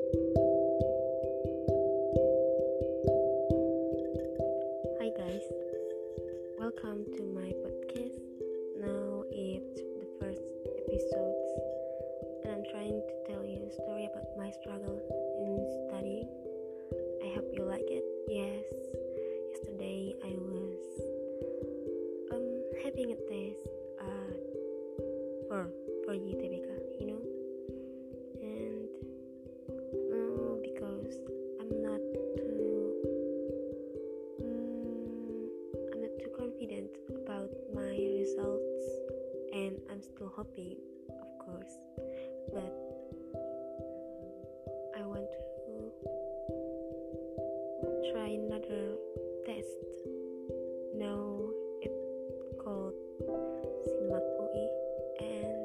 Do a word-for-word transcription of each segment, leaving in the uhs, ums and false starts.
Hi guys, welcome to my podcast. Now it's the first episode, and I'm trying to tell you a story about my struggle in studying. I hope you like it. Yes, yesterday I was um having a test uh for for U T B K, you know, and uh, because I'm not too Mm, I'm not too confident about my results, and I'm still hoping, of course. But I want to try another test. Now it's called SIMAK U I, and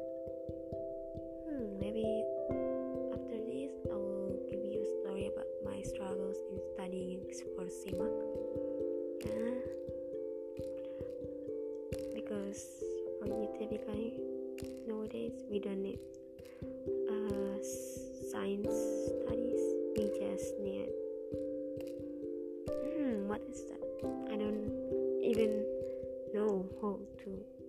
hmm, maybe after this I will give you a story about my struggles in studying for SIMAK. Yeah, because for U T B K nowadays we don't need uh, science studies. We just need hmm, what is that? I don't even know how to